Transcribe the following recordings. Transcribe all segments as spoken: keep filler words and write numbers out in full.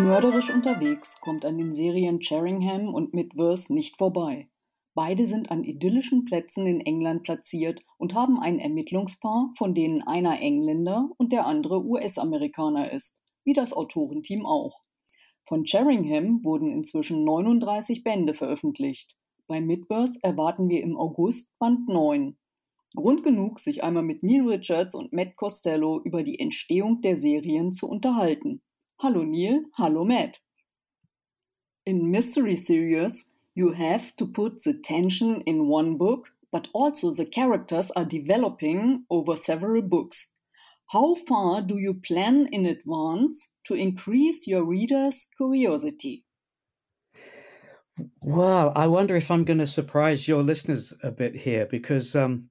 Mörderisch unterwegs kommt an den Serien Sheringham und Midverse nicht vorbei. Beide sind an idyllischen Plätzen in England platziert und haben ein Ermittlungspaar, von denen einer Engländer und der andere U S-Amerikaner ist, wie das Autorenteam auch. Von Sheringham wurden inzwischen neununddreißig Bände veröffentlicht. Bei Midverse erwarten wir im August Band neun. Grund genug, sich einmal mit Neil Richards und Matt Costello über die Entstehung der Serien zu unterhalten. Hallo Neil, hallo Matt. In mystery series, you have to put the tension in one book, but also the characters are developing over several books. How far do you plan in advance to increase your readers' curiosity? Well, I wonder if I'm going to surprise your listeners a bit here, because um,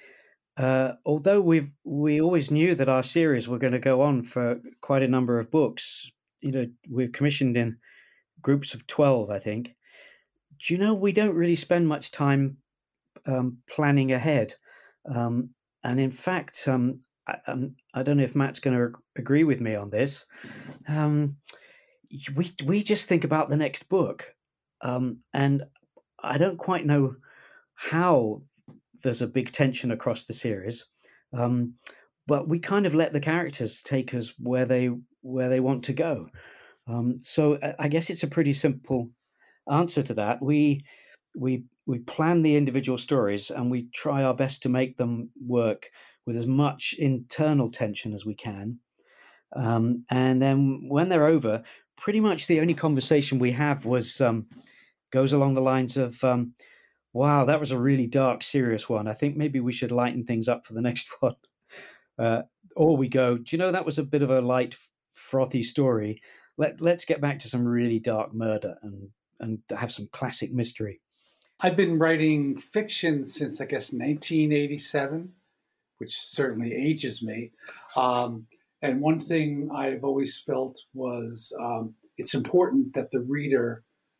uh, although we've we always knew that our series were going to go on for quite a number of books, you know, we're commissioned in groups of twelve, I think. Do you know, we don't really spend much time um, planning ahead. Um, and in fact, um, I, um, I don't know if Matt's going to agree with me on this. Um, we we just think about the next book. Um, and I don't quite know how there's a big tension across the series. Um, but we kind of let the characters take us where they where they want to go. Um, so I guess it's a pretty simple answer to that. We we we plan the individual stories and we try our best to make them work with as much internal tension as we can. Um, and then when they're over, pretty much the only conversation we have was um, goes along the lines of, um, "Wow, that was a really dark, serious one. I think maybe we should lighten things up for the next one." Uh, or we go, "Do you know, that was a bit of a light, frothy story. Let let's get back to some really dark murder and and have some classic mystery." I've been writing fiction since, I guess, nineteen eighty-seven, which certainly ages me. Um, and one thing I've always felt was um, it's important that the reader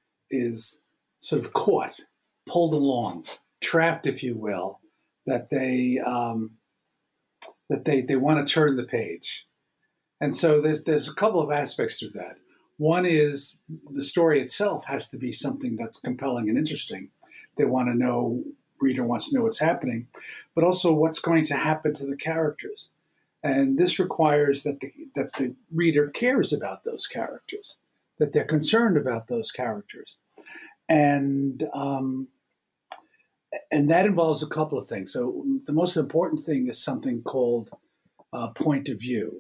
is sort of caught, pulled along, trapped, if you will, that they um, that they they want to turn the page. And so there's there's a couple of aspects to that. One is the story itself has to be something that's compelling and interesting. They want to know, reader wants to know what's happening, but also what's going to happen to the characters. And this requires that the that the reader cares about those characters, that they're concerned about those characters. And um, and that involves a couple of things. So the most important thing is something called uh, point of view.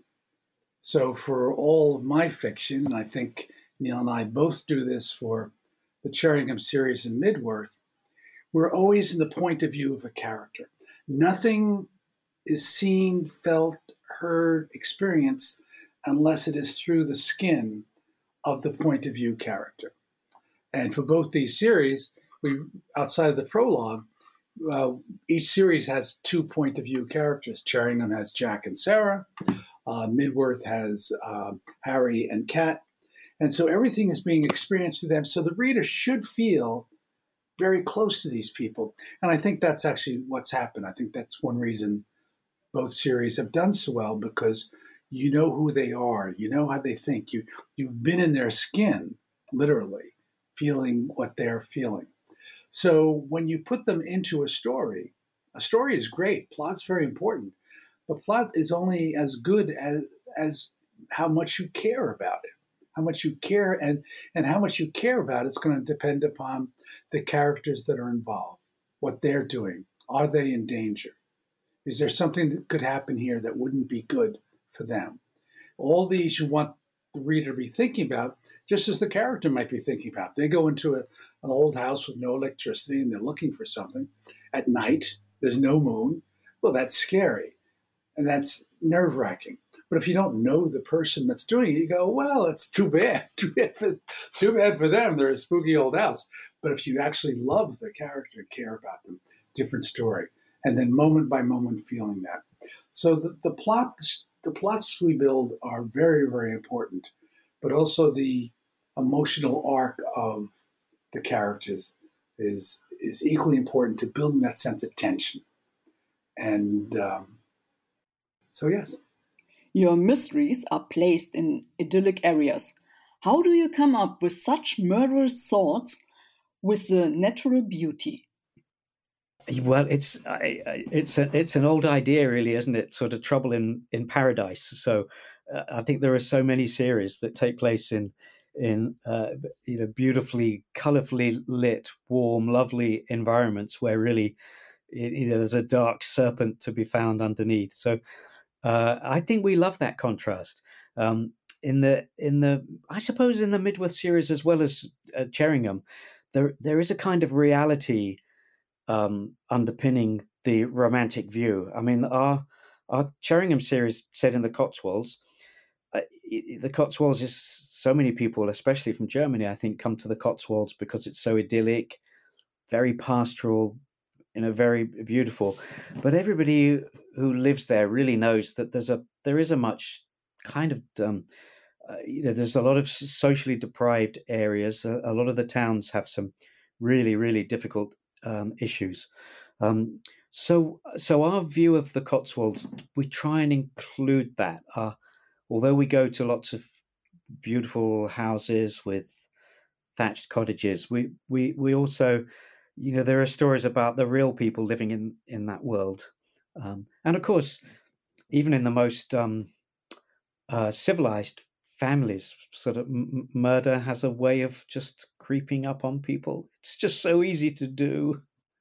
So for all of my fiction, and I think Neil and I both do this for the Sheringham series and Midworth, we're always in the point of view of a character. Nothing is seen, felt, heard, experienced unless it is through the skin of the point of view character. And for both these series, we outside of the prologue, uh, each series has two point of view characters. Sheringham has Jack and Sarah. Uh, Midworth has uh, Harry and Kat. And so everything is being experienced through them. So the reader should feel very close to these people. And I think that's actually what's happened. I think that's one reason both series have done so well, because you know who they are. You know how they think. You, you've been in their skin, literally, feeling what they're feeling. So when you put them into a story, a story is great. Plot's very important. But plot is only as good as, as how much you care about it. How much you care, and, and how much you care about it's going to depend upon the characters that are involved, what they're doing. Are they in danger? Is there something that could happen here that wouldn't be good for them? All these you want the reader to be thinking about, just as the character might be thinking about. They go into a, an old house with no electricity and they're looking for something. At night, there's no moon. Well, that's scary. And that's nerve-wracking. But if you don't know the person that's doing it, you go, well, it's too bad. Too bad for, too bad for them. They're a spooky old house. But if you actually love the character and care about them, different story. And then moment by moment feeling that. So the, the plots, the plots we build are very, very important. But also the emotional arc of the characters is, is equally important to building that sense of tension. And um, so, yes. Your mysteries are placed in idyllic areas. How do you come up with such murderous thoughts with the natural beauty? Well, it's I, I- it's a, it's an old idea, really, isn't it? Sort of trouble in in paradise. So uh, I think there are so many series that take place in in uh, you know beautifully, colourfully lit, warm, lovely environments where really y- you know there's a dark serpent to be found underneath. So uh, I think we love that contrast. Um, in the in the I suppose in the Midworth series as well as uh, Cheringham, there there is a kind of reality um, underpinning the romantic view. I mean, our our Cheringham series set in the Cotswolds. Uh, i- the Cotswolds is so many people, especially from Germany, I think, come to the Cotswolds because it's so idyllic, very pastoral, you know, very beautiful. But everybody who lives there really knows that there's a there is a much kind of um, uh, you know there's a lot of s- socially deprived areas. A, a lot of the towns have some really really difficult um, issues. Um, so so our view of the Cotswolds, we try and include that. Uh, although we go to lots of beautiful houses with thatched cottages, we we we also, you know, there are stories about the real people living in in that world, um, and of course, even in the most um, uh, civilized families, sort of m- m- murder has a way of just creeping up on people. It's just so easy to do.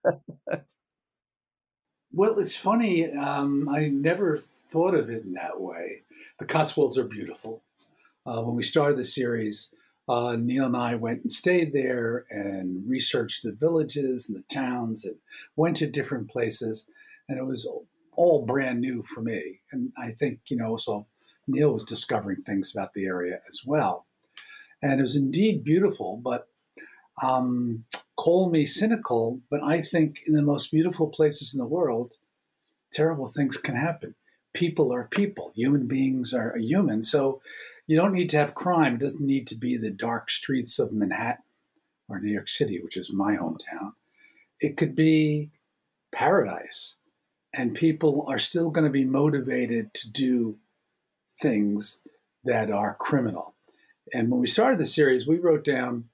Well, it's funny. Um, I never thought of it in that way. The Cotswolds are beautiful. Uh, when we started the series, uh, Neil and I went and stayed there and researched the villages and the towns and went to different places. And it was all brand new for me. And I think, you know, so Neil was discovering things about the area as well. And it was indeed beautiful, but um, call me cynical, but I think in the most beautiful places in the world, terrible things can happen. People are people. Human beings are human. So you don't need to have crime. It doesn't need to be the dark streets of Manhattan or New York City, which is my hometown. It could be paradise. And people are still going to be motivated to do things that are criminal. And when we started the series, we wrote down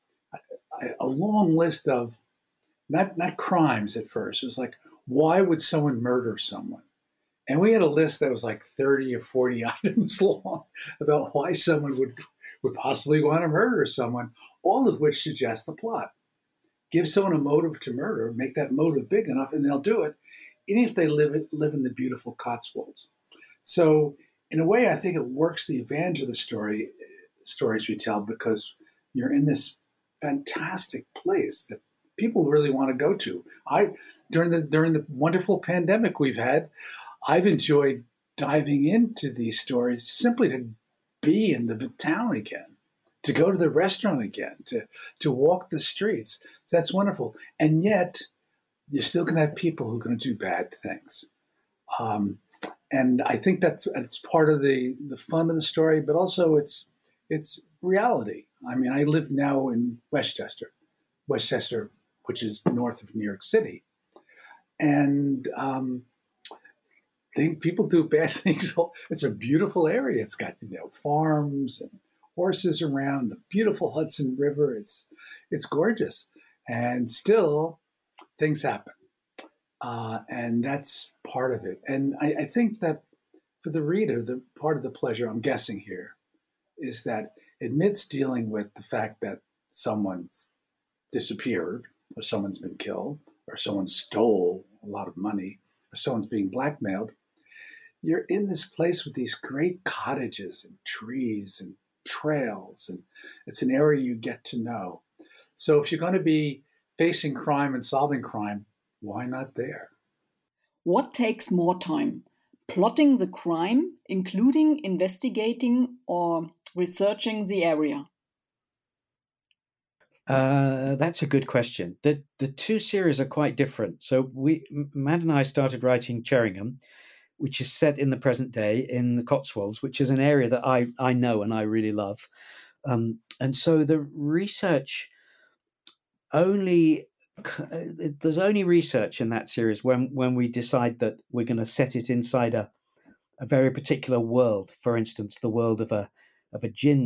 a, a long list of not, not crimes at first. It was like, why would someone murder someone? And we had a list that was like thirty or forty items long about why someone would, would possibly want to murder someone, all of which suggest the plot. Give someone a motive to murder, make that motive big enough, and they'll do it, even if they live, live in the beautiful Cotswolds. So, in a way, I think it works the advantage of the story stories we tell because you're in this fantastic place that people really want to go to. I during the during the wonderful pandemic we've had, I've enjoyed diving into these stories simply to be in the town again, to go to the restaurant again, to to walk the streets. So that's wonderful. And yet, you're still going to have people who are going to do bad things. Um, and I think that's it's part of the the fun of the story, but also it's it's reality. I mean, I live now in Westchester, Westchester, which is north of New York City, and um, think people do bad things. It's a beautiful area. It's got you know farms and horses around the beautiful Hudson River. It's it's gorgeous, and still things happen, uh, and that's part of it. And I, I think that for the reader, the part of the pleasure I'm guessing here is that amidst dealing with the fact that someone's disappeared, or someone's been killed, or someone stole a lot of money, or someone's being blackmailed, you're in this place with these great cottages and trees and trails, and it's an area you get to know. So if you're going to be facing crime and solving crime, why not there? What takes more time? Plotting the crime, including investigating or researching the area? Uh, that's a good question. The the two series are quite different. So we, M- Matt and I started writing Cheringham, which is set in the present day in the Cotswolds, which is an area that I I know and I really love. Um, and so the research only c- uh, there's only research in that series when when we decide that we're going to set it inside a, a very particular world. For instance, the world of a of a gin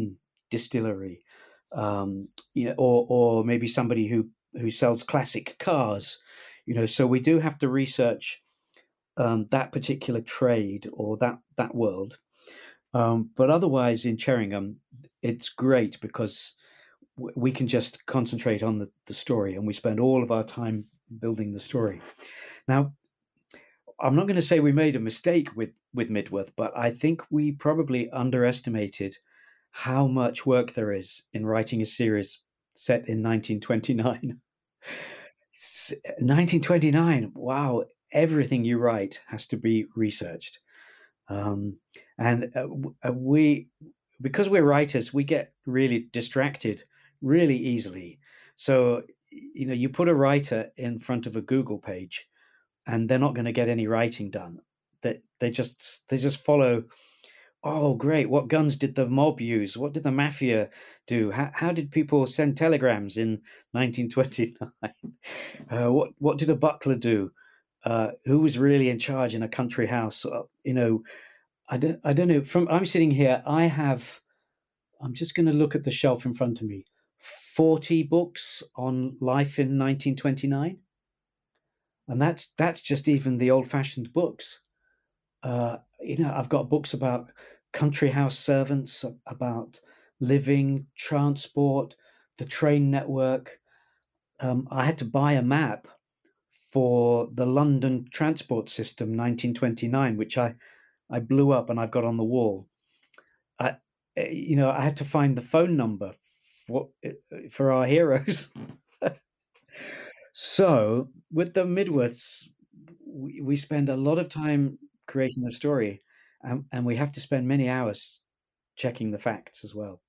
distillery, um, you know, or or maybe somebody who who sells classic cars. You know, so we do have to research um, that particular trade or that that world. Um, but otherwise, in Cheringham, it's great because w- we can just concentrate on the, the story, and we spend all of our time building the story. Now, I'm not going to say we made a mistake with with Midworth, but I think we probably underestimated how much work there is in writing a series set in nineteen twenty-nine. S- nineteen twenty-nine, wow, everything you write has to be researched. Um, and uh, w- uh, we, because we're writers, we get really distracted really easily. So, you know, you put a writer in front of a Google page and they're not going to get any writing done. That they, they just they just follow. Oh, great! What guns did the mob use? What did the mafia do? How, how did people send telegrams in nineteen twenty-nine? Uh, what what did a butler do? Uh, who was really in charge in a country house? Uh, you know, I don't I don't know. From I'm sitting here, I have. I'm just going to look at the shelf in front of me. Forty books on life in nineteen twenty-nine, and that's that's just even the old-fashioned books. Uh, you know, I've got books about country house servants, about living, transport, the train network. Um, I had to buy a map for the London transport system, nineteen twenty-nine, which I, I blew up and I've got on the wall. I, you know, I had to find the phone number for, for our heroes. So with the Midworths, we, we spend a lot of time creating the story, and, and we have to spend many hours checking the facts as well.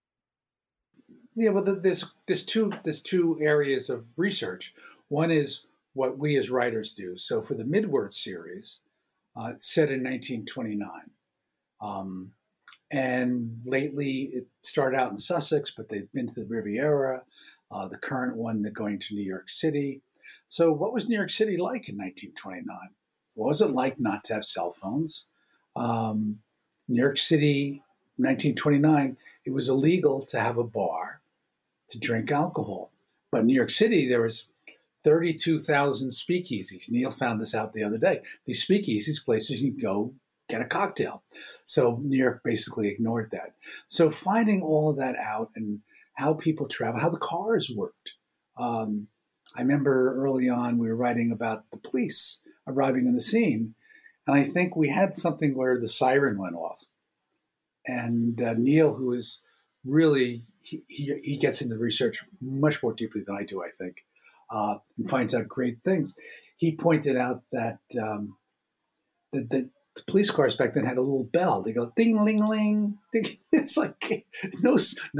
Yeah, well, there's there's two there's two areas of research. One is what we as writers do. So for the Midworth series, uh, it's set in nineteen twenty-nine, um, and lately it started out in Sussex, but they've been to the Riviera. Uh, the current one, they're going to New York City. So, what was New York City like in nineteen twenty-nine? What was it like not to have cell phones? Um, New York City, nineteen twenty-nine, it was illegal to have a bar to drink alcohol. But in New York City, there was thirty-two thousand speakeasies. Neil found this out the other day. These speakeasies, places you can go get a cocktail. So New York basically ignored that. So finding all of that out and how people travel, how the cars worked. Um, I remember early on we were writing about the police arriving on the scene, and I think we had something where the siren went off. And uh, Neil, who is really, he, he, he gets into research much more deeply than I do, I think, uh, and finds out great things. He pointed out that, um, that, that the police cars back then had a little bell. They go ding, ling, ling. Ding. It's like no,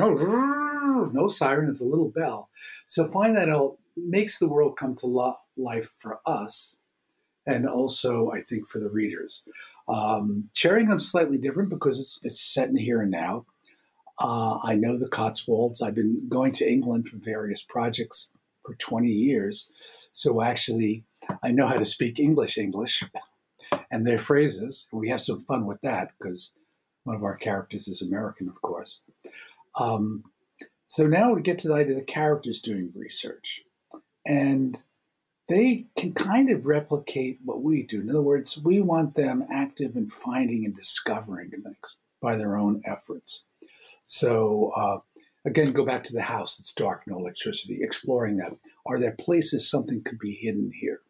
no, no siren. It's a little bell. So find that out makes the world come to lo- life for us, and also I think for the readers. Um, Sheringham's slightly different because it's, it's set in here and now. Uh, I know the Cotswolds. I've been going to England for various projects for twenty years. So actually, I know how to speak English English and their phrases. We have some fun with that because one of our characters is American, of course. Um, so now we get to the idea of the characters doing research. And they can kind of replicate what we do. In other words, we want them active in finding and discovering things by their own efforts. So, uh, again, go back to the house that's dark, no electricity, exploring that. Are there places something could be hidden here?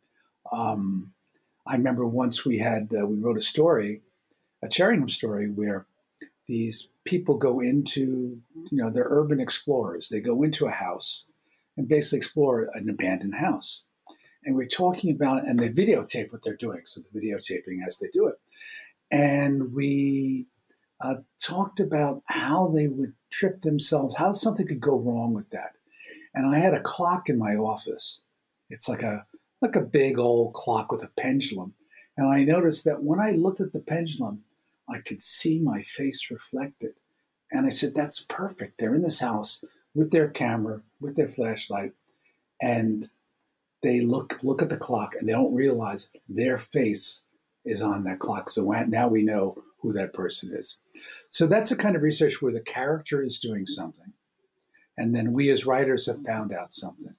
Um, I remember once we had, uh, we wrote a story, a Sheringham story, where these people go into, you know, they're urban explorers. They go into a house and basically explore an abandoned house. And we're talking about, and they videotape what they're doing. So the videotaping as they do it. And we uh, talked about how they would trip themselves, how something could go wrong with that. And I had a clock in my office. It's like a like a big old clock with a pendulum. And I noticed that when I looked at the pendulum, I could see my face reflected. And I said, that's perfect. They're in this house with their camera, with their flashlight, and they look look at the clock and they don't realize their face is on that clock. So now we know who that person is. So that's the kind of research where the character is doing something. And then we as writers have found out something.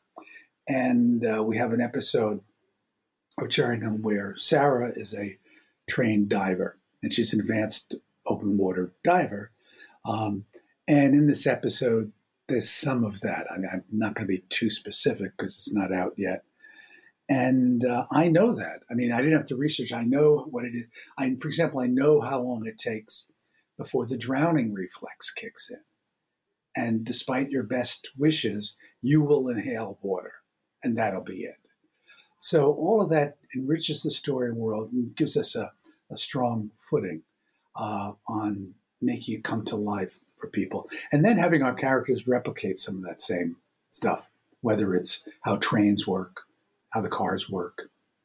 And uh, we have an episode of Cherringham where Sarah is a trained diver, and she's an advanced open water diver. Um, and in this episode, there's some of that. I mean, I'm not going to be too specific because it's not out yet. And uh, I know that. I mean, I didn't have to research. I know what it is. I, for example, I know how long it takes before the drowning reflex kicks in. And despite your best wishes, you will inhale water, and that'll be it. So all of that enriches the story world and gives us a, a strong footing uh, on making it come to life for people. And then having our characters replicate some of that same stuff, whether it's how trains work, how the cars work.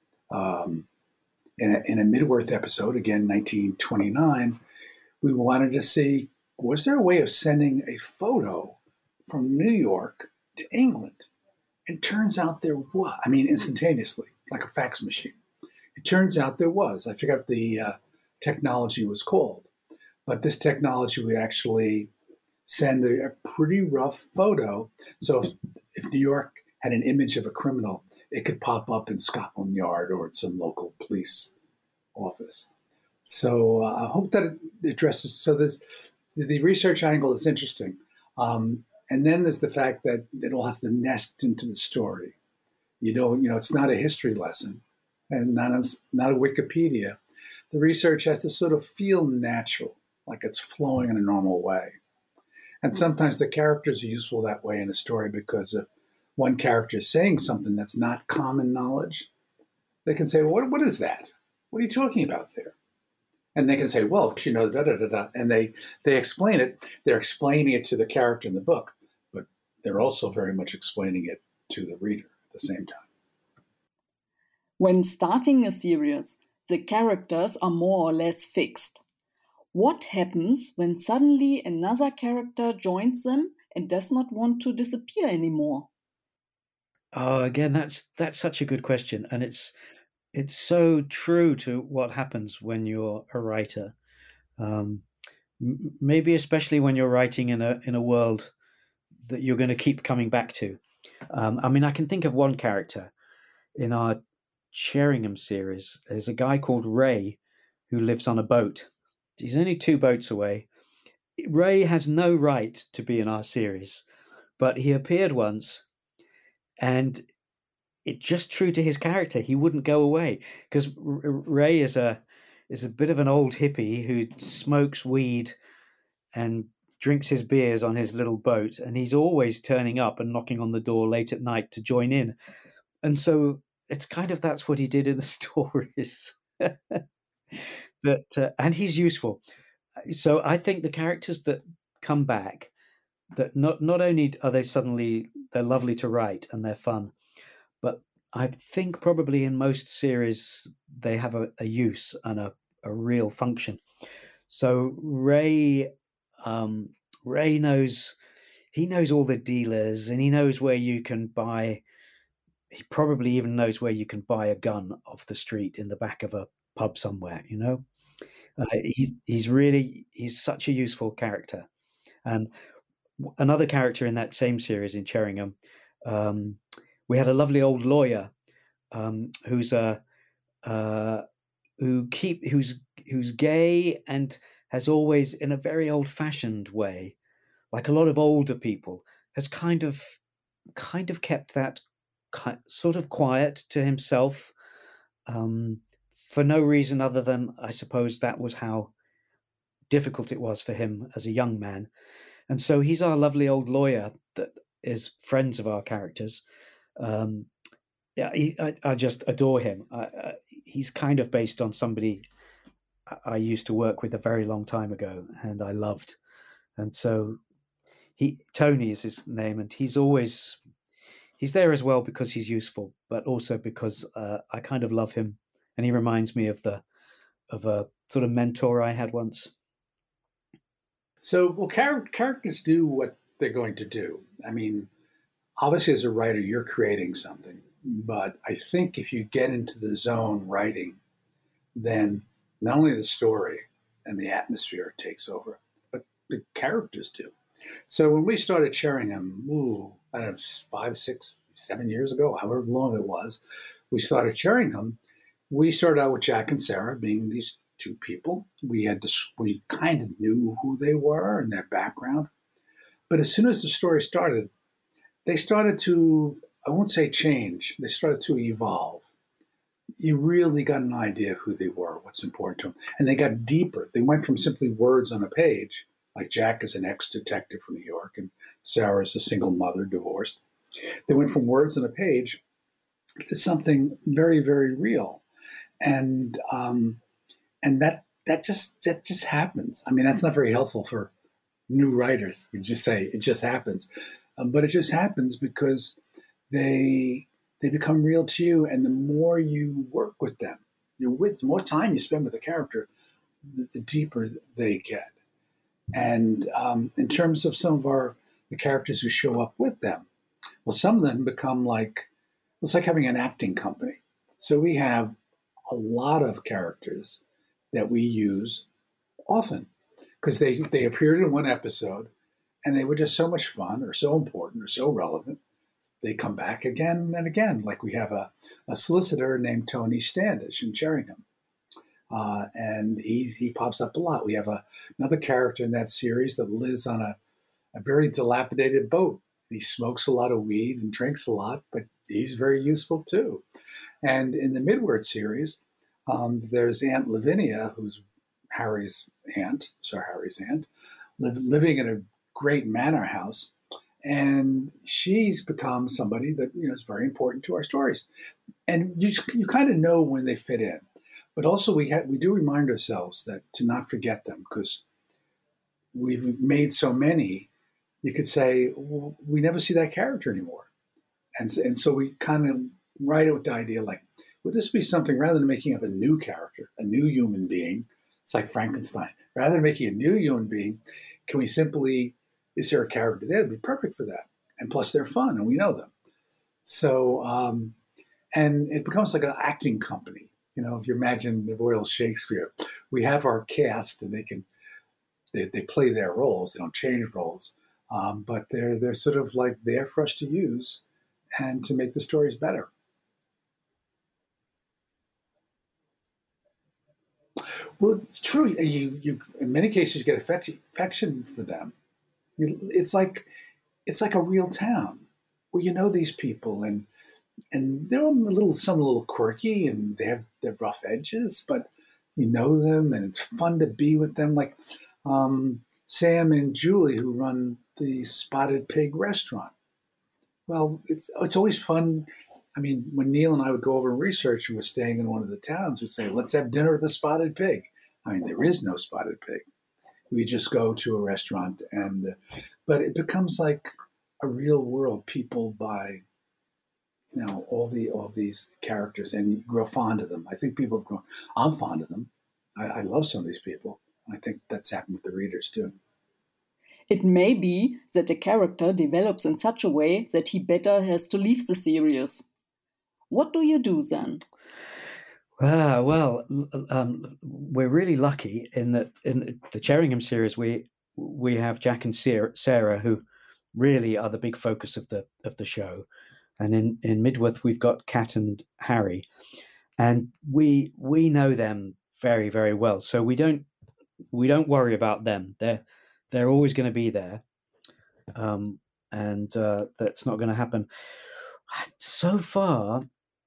Um, in, a, in a Midworth episode, again, nineteen twenty-nine, we wanted to see, was there a way of sending a photo from New York to England? It turns out there was. I mean, instantaneously, like a fax machine. It turns out there was. I forgot what the uh, technology was called. But this technology would actually send a, a pretty rough photo. So if, if New York had an image of a criminal, it could pop up in Scotland Yard or at some local police office. So uh, I hope that it addresses. So this, the research angle is interesting. Um, and then there's the fact that it all has to nest into the story. You don't, you know, it's not a history lesson and not a, not a Wikipedia. The research has to sort of feel natural, like it's flowing in a normal way. And sometimes the characters are useful that way in a story because if one character is saying something that's not common knowledge, they can say, what, what is that? What are you talking about there? And they can say, well, you know, da, da, da, da. And they, they explain it. They're explaining it to the character in the book, but they're also very much explaining it to the reader at the same time. When starting a series, the characters are more or less fixed. What happens when suddenly another character joins them and does not want to disappear anymore? Oh, again, that's that's such a good question, and it's it's so true to what happens when you're a writer. Um, m- maybe especially when you're writing in a in a world that you're going to keep coming back to. Um, I mean, I can think of one character in our Sheringham series. There's a guy called Ray who lives on a boat. He's only two boats away. Ray has no right to be in our series, but he appeared once, and it just true to his character. He wouldn't go away because Ray is a is a bit of an old hippie who smokes weed and drinks his beers on his little boat, and he's always turning up and knocking on the door late at night to join in. And so it's kind of that's what he did in the stories. But uh, and he's useful. So I think the characters that come back, that not not only are they suddenly they're lovely to write and they're fun, but I think probably in most series they have a, a use and a, a real function. So Ray um, Ray knows he knows all the dealers, and he knows where you can buy. He probably even knows where you can buy a gun off the street in the back of a pub somewhere. You know, uh, he, he's really he's such a useful character. And another character in that same series in Cherringham, um, we had a lovely old lawyer um, who's a uh, who keep who's who's gay and has always, in a very old-fashioned way, like a lot of older people, has kind of kind of kept that ki- sort of quiet to himself um, for no reason other than, I suppose, that was how difficult it was for him as a young man. And so he's our lovely old lawyer that is friends of our characters. Um, yeah, he, I, I just adore him. I, I, he's kind of based on somebody I, I used to work with a very long time ago, and I loved. And so he Tony is his name, and he's always he's there as well because he's useful, but also because uh, I kind of love him, and he reminds me of the of a sort of mentor I had once. So, well, char- characters do what they're going to do. I mean, obviously, as a writer, you're creating something. But I think if you get into the zone writing, then not only the story and the atmosphere takes over, but the characters do. So when we started Sheringham, ooh, I don't know, five, six, seven years ago, however long it was, we started Sheringham. We started out with Jack and Sarah being these two people. We had to, we kind of knew who they were and their background. But as soon as the story started, they started to, I won't say change, they started to evolve. You really got an idea of who they were, what's important to them. And they got deeper. They went from simply words on a page, like Jack is an ex-detective from New York and Sarah is a single mother, divorced. They went from words on a page to something very, very real. And um, and that that just that just happens. I mean, that's not very helpful for new writers. You just say it just happens, um, but it just happens because they they become real to you, and the more you work with them, you're with the more time you spend with the character, the, the deeper they get. And um, in terms of some of our the characters who show up with them, well, some of them become like it's like having an acting company. So we have a lot of characters that we use often because they they appeared in one episode and they were just so much fun or so important or so relevant. They come back again and again. Like we have a, a solicitor named Tony Standish in Sheringham. Uh, and he's, he pops up a lot. We have a, another character in that series that lives on a, a very dilapidated boat. He smokes a lot of weed and drinks a lot, but he's very useful too. And in the Midword series, um, there's Aunt Lavinia, who's Harry's aunt, Sir Harry's aunt, live, living in a great manor house. And she's become somebody that you know is very important to our stories. And you you kind of know when they fit in. But also we ha- we do remind ourselves that to not forget them because we've made so many, you could say, well, we never see that character anymore. And, and so we kind of write it with the idea like, would this be something rather than making up a new character, a new human being? It's like Frankenstein. Rather than making a new human being, can we simply, is there a character there that'd be perfect for that? And plus they're fun and we know them. So, um, and it becomes like an acting company. You know, if you imagine the Royal Shakespeare, we have our cast and they can, they, they play their roles. They don't change roles, um, but they're, they're sort of like there for us to use and to make the stories better. Well, true. You, you, in many cases, you get affection, affection for them. You, it's like, it's like a real town where you know these people, and and they're a little, some a little quirky, and they have their rough edges, but you know them, and it's fun to be with them. Like um, Sam and Julie, who run the Spotted Pig restaurant. Well, it's it's always fun. I mean, when Neil and I would go over and research and we're staying in one of the towns, we'd say, let's have dinner at the Spotted Pig. I mean, there is no Spotted Pig. We just go to a restaurant, and uh, but it becomes like a real world. People buy, you know, all the all these characters, and you grow fond of them. I think people have grown. I'm fond of them. I, I love some of these people. I think that's happened with the readers too. It may be that a character develops in such a way that he better has to leave the series. What do you do then? Ah, well, um, we're really lucky in that in the Sheringham series we we have Jack and Sarah, who really are the big focus of the of the show, and in in Midworth we've got Kat and Harry, and we we know them very very well, so we don't we don't worry about them. They're they're always going to be there, um, and uh, that's not going to happen. So far,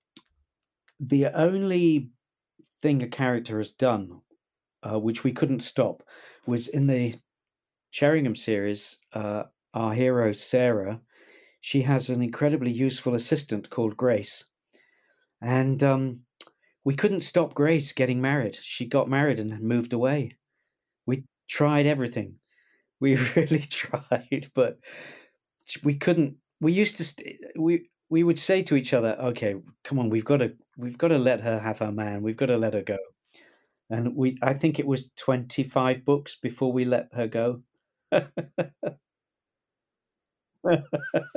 the only thing a character has done, uh, which we couldn't stop, was in the Sheringham series. Uh, our hero Sarah, she has an incredibly useful assistant called Grace, and um, we couldn't stop Grace getting married. She got married and moved away. We tried everything. We really tried, but we couldn't. We used to. St- we we would say to each other, "Okay, come on, we've got to we've got to let her have her man. We've got to let her go." And we, I think it was twenty-five books before we let her go.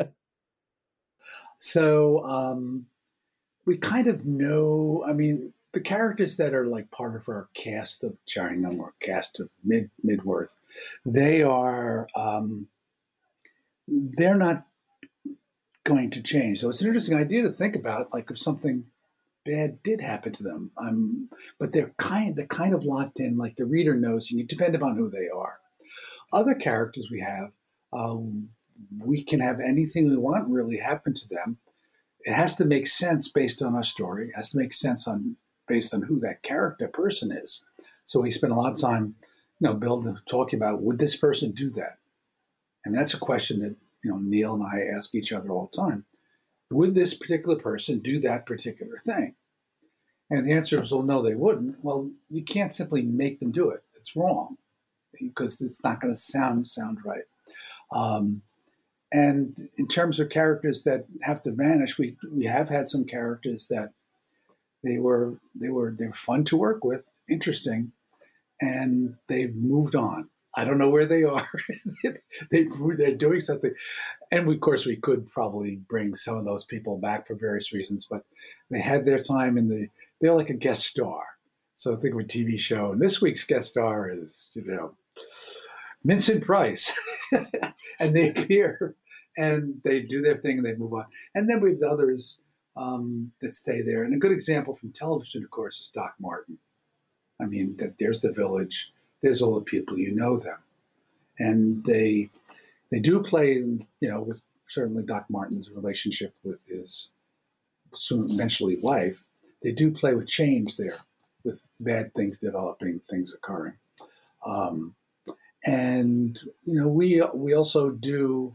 So um, we kind of know. I mean, the characters that are like part of our cast of Charingham or cast of Mid Midworth, they are um, they're not going to change. So it's an interesting idea to think about, like if something bad did happen to them, um, but they're kind they're kind of locked in. Like the reader knows, you depend upon who they are. Other characters we have, um, we can have anything we want really happen to them. It has to make sense based on our story. It has to make sense on based on who that character person is. So we spend a lot of time, you know, building, talking about, would this person do that? And that's a question that, you know, Neil and I ask each other all the time. Would this particular person do that particular thing? And the answer is, well, no, they wouldn't. Well, you can't simply make them do it. It's wrong because it's not going to sound sound right. Um, and in terms of characters that have to vanish, we we have had some characters that they were they were they were fun to work with, interesting, and they've moved on. I don't know where they are. they, they're doing something. And we, of course, we could probably bring some of those people back for various reasons, but they had their time in the, they're like a guest star. So think of a T V show. And this week's guest star is, you know, Vincent Price. And they appear and they do their thing and they move on. And then we have the others um, that stay there. And a good example from television, of course, is Doc Martin. I mean, that there's the village. There's all the people, you know them. And they they do play, you know, with certainly Doc Martin's relationship with his soon eventually wife, they do play with change there, with bad things developing, things occurring. Um, and, you know, we we also do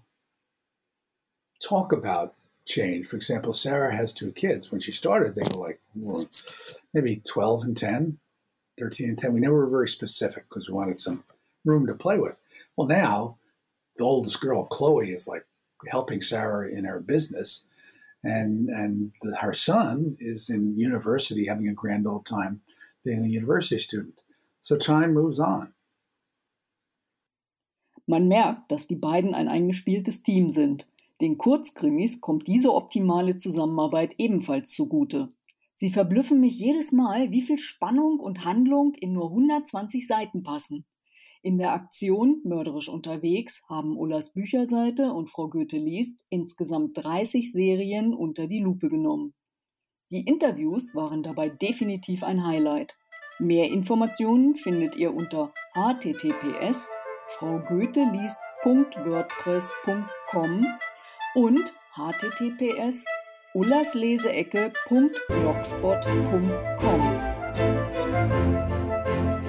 talk about change. For example, Sarah has two kids. When she started, they were like well, maybe twelve and ten. thirteen and ten. We never were very specific because we wanted some room to play with. Well, now the oldest girl, Chloe, is like helping Sarah in her business. And and the, her son is in university having a grand old time being a university student. So time moves on. Man merkt, dass die beiden ein eingespieltes Team sind. Den Kurzkrimis kommt diese optimale Zusammenarbeit ebenfalls zugute. Sie verblüffen mich jedes Mal, wie viel Spannung und Handlung in nur hundertzwanzig Seiten passen. In der Aktion Mörderisch unterwegs haben Ullas Bücherseite und Frau Goethe liest insgesamt dreißig Serien unter die Lupe genommen. Die Interviews waren dabei definitiv ein Highlight. Mehr Informationen findet ihr unter h t t p s punkt frau goethe liest punkt wordpress punkt com und h t t p s punkt ullasleseecke punkt blogspot punkt com.